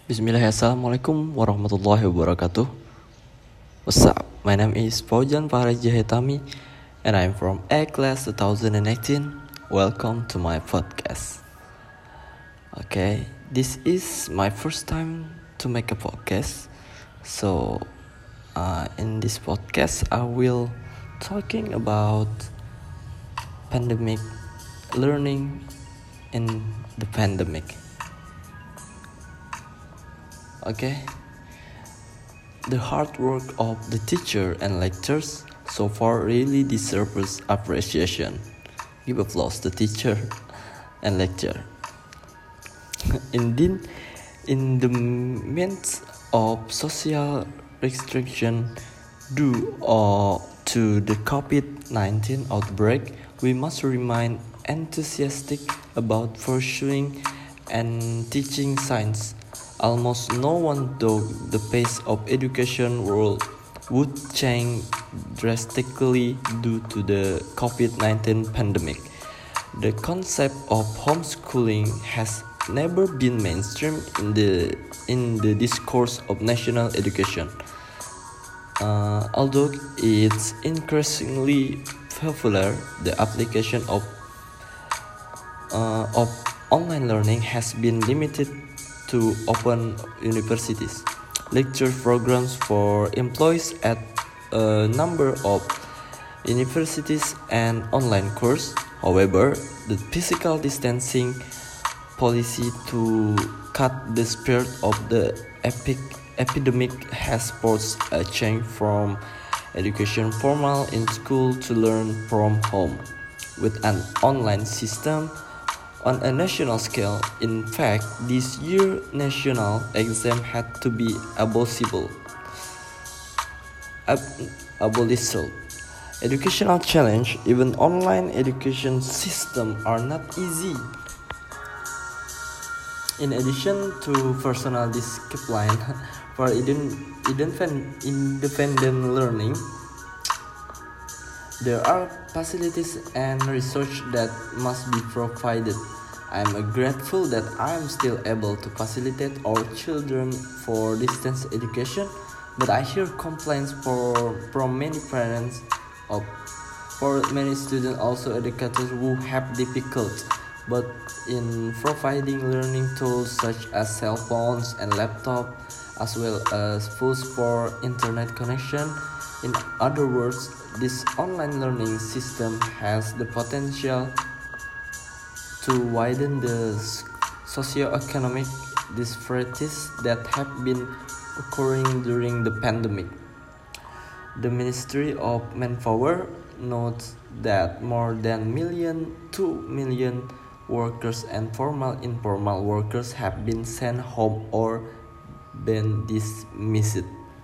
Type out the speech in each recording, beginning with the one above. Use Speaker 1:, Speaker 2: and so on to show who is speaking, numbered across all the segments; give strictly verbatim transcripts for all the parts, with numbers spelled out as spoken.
Speaker 1: Bismillah, Assalamualaikum warahmatullahi wabarakatuh. What's up? My name is Faujan Fahraj Jahetami and I'm from A Class twenty eighteen. Welcome to my podcast. Okay, this is my first time to make a podcast. So, uh, in this podcast, I will talking about pandemic, learning in the pandemic. Okay, the hard work of the teacher and lecturers so far really deserves appreciation. Give applause to teacher and lecturer. Indeed, in the midst of social restriction due or to the COVID nineteen outbreak, we must remain enthusiastic about pursuing and teaching science. Almost no one thought the pace of education world would change drastically due to the COVID nineteen pandemic. The concept of homeschooling has never been mainstream in the in the discourse of national education. Uh, although it's increasingly popular, the application of uh, of online learning has been limited to open universities, lecture programs for employees at a number of universities, and online courses. However, the physical distancing policy to cut the spread of the epic epidemic has forced a change from education formal in school to learn from home, with an online system. On a national scale, in fact, this year national exam had to be abolible. Ab- abolished. Educational challenge, even online education system are not easy. In addition to personal discipline for independent learning, there are facilities and research that must be provided. I am grateful that I am still able to facilitate our children for distance education, but I hear complaints for, from many parents of for many students, also educators who have difficulty but in providing learning tools such as cell phones and laptop, as well as phones for internet connection. In other words, this online learning system has the potential to widen the socio-economic disparities that have been occurring during the pandemic. The Ministry of Manpower notes that more than million, two million workers and formal informal workers have been sent home or been dismissed.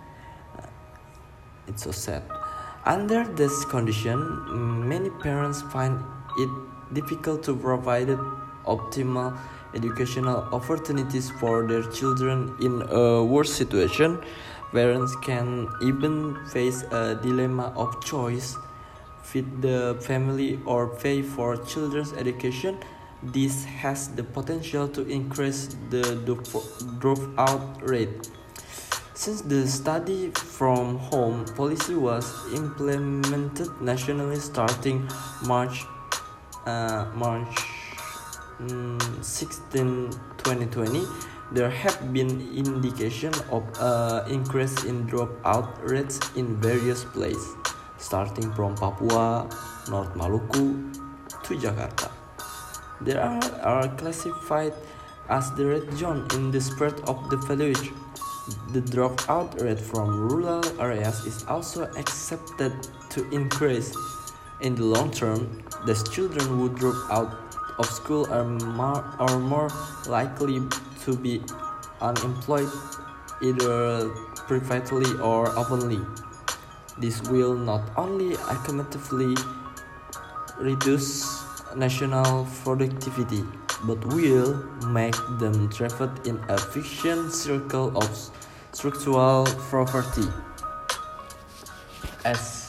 Speaker 1: It's so sad. Under this condition, many parents find it difficult to provide optimal educational opportunities for their children. In a worse situation, parents can even face a dilemma of choice: feed the family or pay for children's education. This has the potential to increase the dropout rate. Since the study from home policy was implemented nationally starting March uh, March sixteenth, twenty twenty, there have been indications of an increase in dropout rates in various places, starting from Papua, North Maluku, to Jakarta. They are, are classified as the red zone in the spread of the village. The dropout rate from rural areas is also expected to increase. In the long term, the children who drop out of school are more, are more likely to be unemployed, either privately or openly. This will not only economically reduce national productivity, but will make them trapped in a vicious circle of structural poverty. As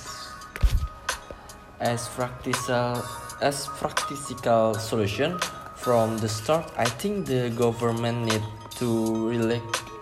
Speaker 1: as practical as practical solution from the start, I think the government need to relax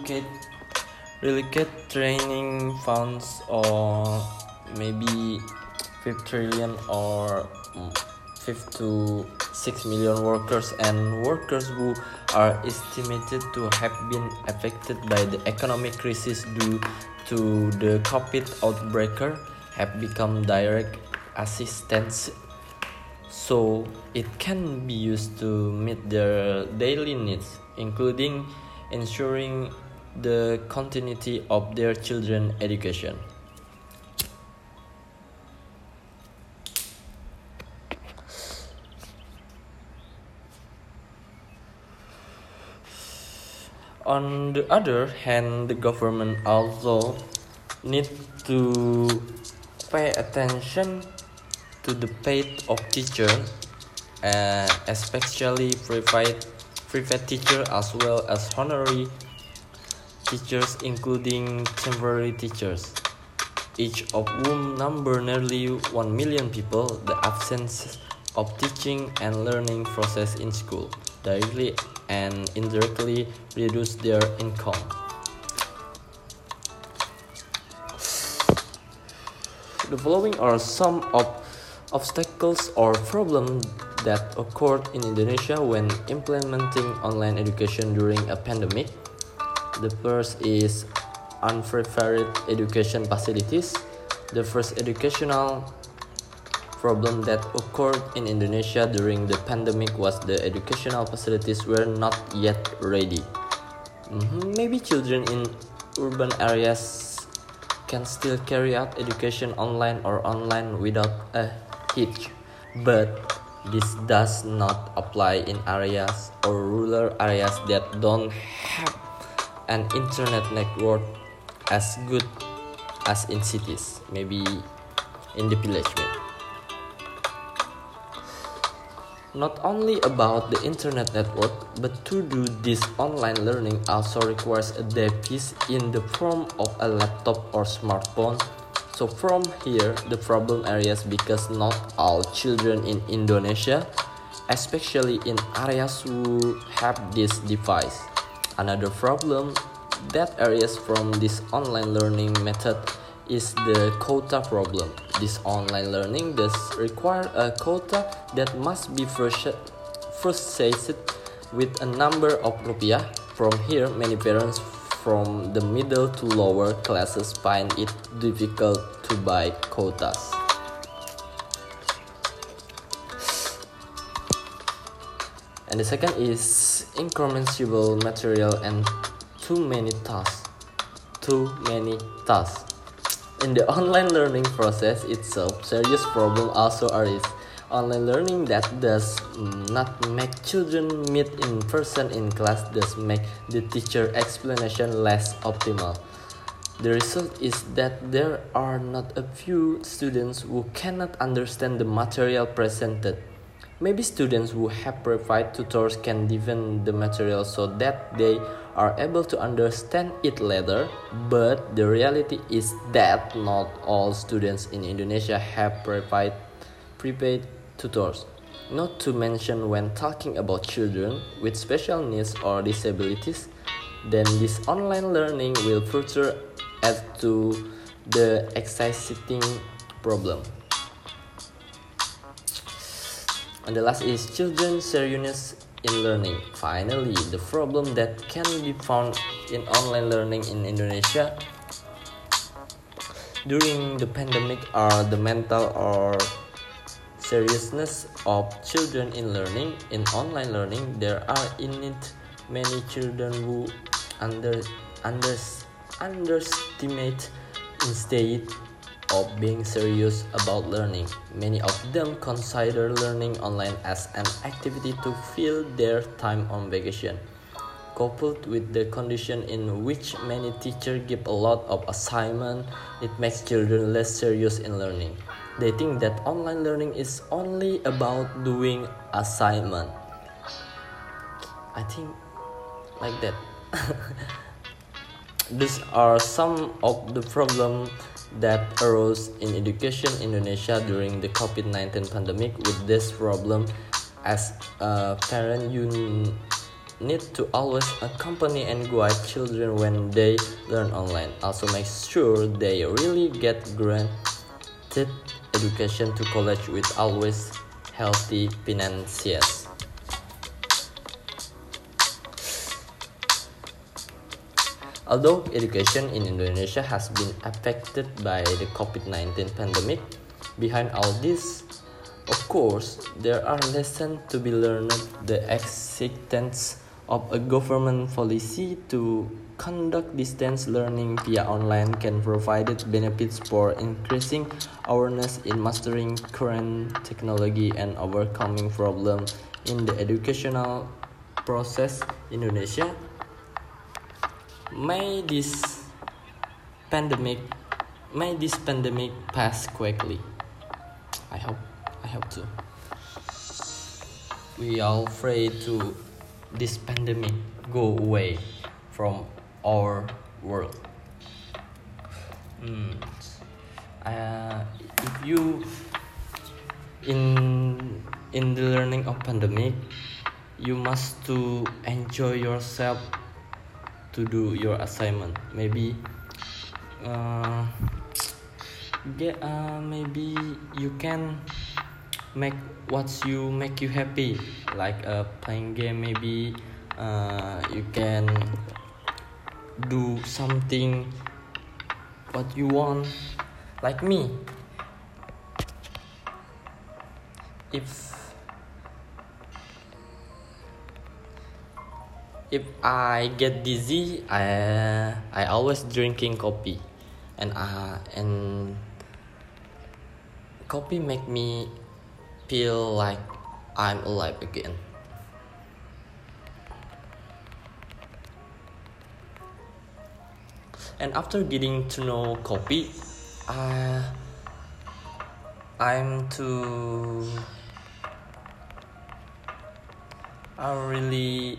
Speaker 1: relocate relocate training funds or maybe five trillion or five to six million workers and workers who are estimated to have been affected by the economic crisis due to the COVID outbreak have become direct assistance, so it can be used to meet their daily needs, including ensuring the continuity of their children's education. On the other hand, the government also need to pay attention to the pay of teachers, uh, especially private private teachers as well as honorary teachers, including temporary teachers, each of whom number nearly one million people. The absence of teaching and learning process in school directly and indirectly reduce their income. The following are some of obstacles or problems that occurred in Indonesia when implementing online education during a pandemic. The first is unprepared education facilities. The first educational problem that occurred in Indonesia during the pandemic was the educational facilities were not yet ready. Mm-hmm. Maybe children in urban areas can still carry out education online or online without a hitch, but this does not apply in areas or rural areas that don't have an internet network as good as in cities, maybe in the village. Maybe. Not only about the internet network, but to do this online learning also requires a device in the form of a laptop or smartphone. So from here, the problem areas because not all children in Indonesia, especially in areas who have this device. Another problem that areas from this online learning method is the quota problem. This online learning does require a quota that must be purchased with a number of rupiah. From here, many parents from the middle to lower classes find it difficult to buy quotas. And the second is incommensurable material and too many tasks. Too many tasks. In the online learning process itself, serious problem also arises. Online learning that does not make children meet in person in class does make the teacher explanation less optimal. The result is that there are not a few students who cannot understand the material presented. Maybe students who have provided tutors can deepen the material so that they are able to understand it later, but the reality is that not all students in Indonesia have provided prepaid tutors. Not to mention when talking about children with special needs or disabilities, then this online learning will further add to the existing problem. And the last is children's seriousness in learning. Finally, the problem that can be found in online learning in Indonesia during the pandemic are the mental or seriousness of children in learning. In online learning, there are in it many children who under, under, underestimate instead of being serious about learning. Many of them consider learning online as an activity to fill their time on vacation. Coupled with the condition in which many teachers give a lot of assignment, it makes children less serious in learning. They think that online learning is only about doing assignment. I think like that. These are some of the problems that arose in education in Indonesia during the COVID nineteen pandemic. With this problem as a parent, you need to always accompany and guide children when they learn online. Also make sure they really get granted education to college with always healthy finances. Although education in Indonesia has been affected by the COVID nineteen pandemic, behind all this, of course, there are lessons to be learned. The existence of a government policy to conduct distance learning via online can provide benefits for increasing awareness in mastering current technology and overcoming problems in the educational process in Indonesia. May this pandemic, may this pandemic pass quickly. I hope, I hope to. We all pray to this pandemic go away from our world. Mm. Uh, if you in in the learning of pandemic, you must to enjoy yourself to do your assignment. Maybe uh, get uh, maybe you can make what you make you happy, like uh, playing game. Maybe uh, you can do something what you want, like me. If If I get dizzy, I I always drinking coffee, and uh and coffee make me feel like I'm alive again. And after getting to know coffee, uh, I'm too. I really.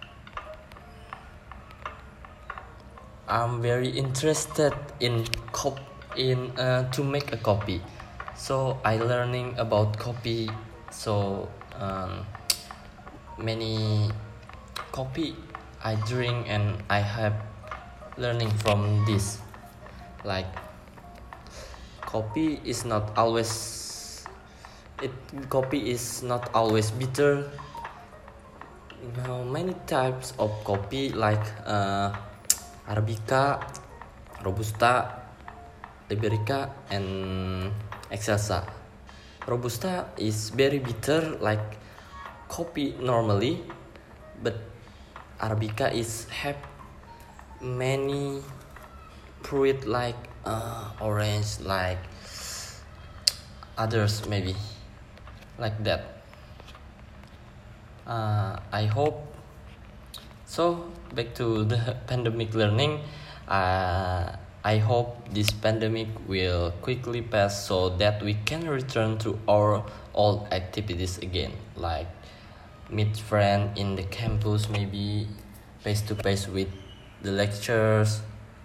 Speaker 1: I'm very interested in cop in uh, to make a coffee, so I learning about coffee. So um, many coffee I drink and I have learning from this. Like coffee is not always it coffee is not always bitter. Now many types of coffee like. Uh, Arabica, Robusta, Liberica, and Excelsa. Robusta is very bitter like coffee normally, but Arabica is have many fruit like uh, orange, like others maybe, like that. Uh, I hope. So back to the pandemic learning, uh, I hope this pandemic will quickly pass so that we can return to our old activities again, like meet friends in the campus, maybe face to face with the lectures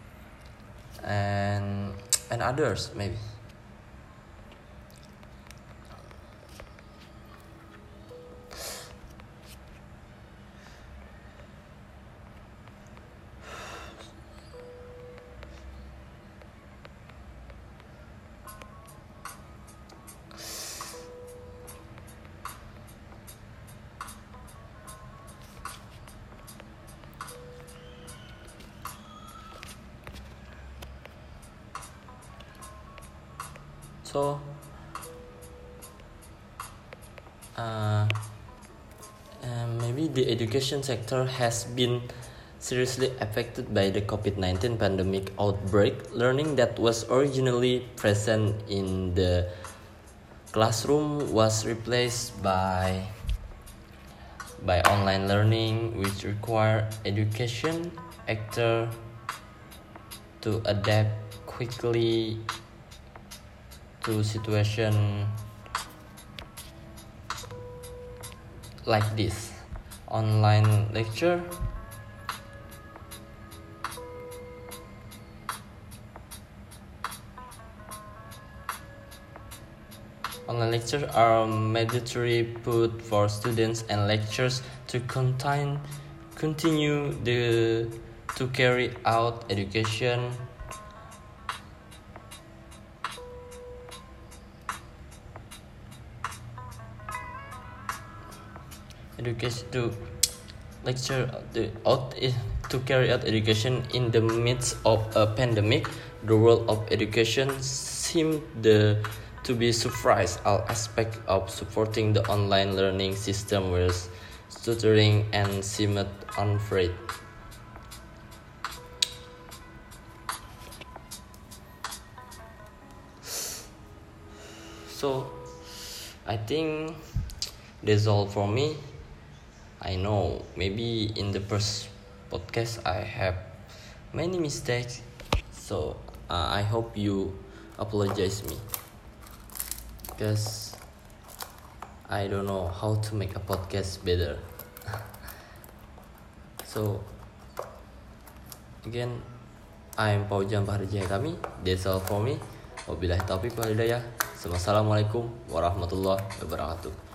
Speaker 1: and and others maybe. So, uh, uh, maybe the education sector has been seriously affected by the COVID nineteen pandemic outbreak. Learning that was originally present in the classroom was replaced by by online learning, which require education actor to adapt quickly to situation like this. Online lecture online lectures are mandatory put for students and lectures to contain continue the to carry out education education to lecture the out to carry out education in the midst of a pandemic. The world of education seemed the to be surprised all aspects of supporting the online learning system, whereas tutoring and seemed unafraid. So I think that's all for me. I know maybe in the first podcast I have many mistakes, so uh, I hope you apologize me, because I don't know how to make a podcast better. So again, I'm Paujam Baharjaya Kami. That's all for me. Wabillahi taufiq wal hidayah. Wassalamualaikum warahmatullahi wabarakatuh.